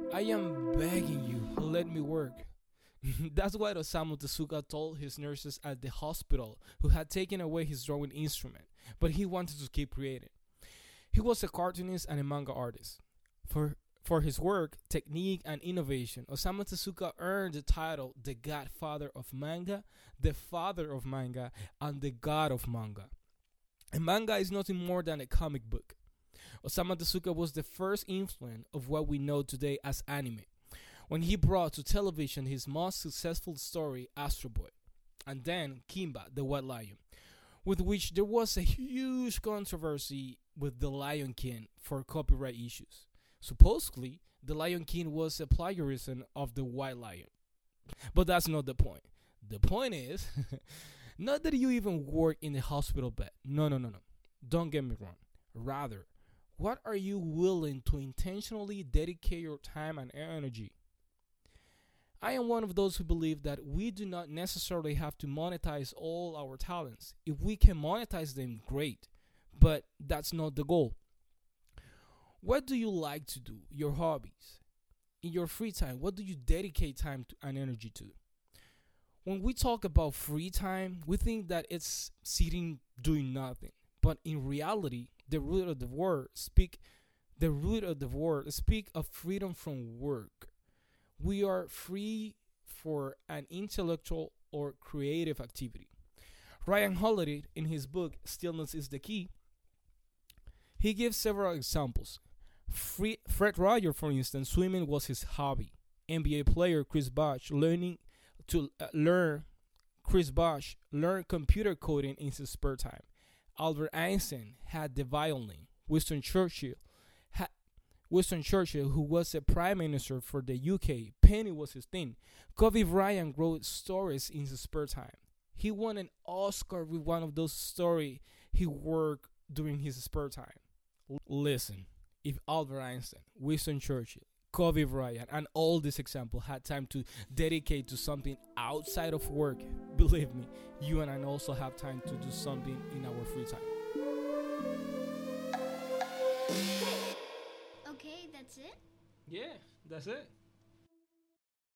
I am begging you, let me work. That's what Osamu Tezuka told his nurses at the hospital who had taken away his drawing instrument, but he wanted to keep creating. He was a cartoonist and a manga artist. For his work, technique, and innovation, Osamu Tezuka earned the title the Godfather of Manga, the Father of Manga, and the God of Manga. A manga is nothing more than a comic book. Osamu Tezuka was the first influence of what we know today as anime, when he brought to television his most successful story, Astro Boy, and then Kimba, the White Lion, with which there was a huge controversy with The Lion King for copyright issues. Supposedly, The Lion King was a plagiarism of The White Lion. But that's not the point. The point is, not that you even work in a hospital bed. No, no, no, no. Don't get me wrong. Rather, what are you willing to intentionally dedicate your time and energy? I am one of those who believe that we do not necessarily have to monetize all our talents. If we can monetize them, great. But that's not the goal. What do you like to do? Your hobbies. In your free time, what do you dedicate time to and energy to? When we talk about free time, we think that it's sitting doing nothing. But in reality, the root of the word speak of freedom from work. We are free for an intellectual or creative activity. Ryan Holiday, in his book Stillness is the Key, he gives several examples. Fred Roger, for instance, swimming was his hobby. NBA player Chris Bosh learned computer coding in his spare time. Albert Einstein had the violin. Winston Churchill, who was a prime minister for the UK, painting was his thing. Kobe Bryant wrote stories in his spare time. He won an Oscar with one of those stories he worked during his spare time. Listen, if Albert Einstein, Winston Churchill, Kobe Bryant, and all these examples had time to dedicate to something outside of work, believe me, you and I also have time to do something in our free time. Okay, that's it? Yeah, that's it.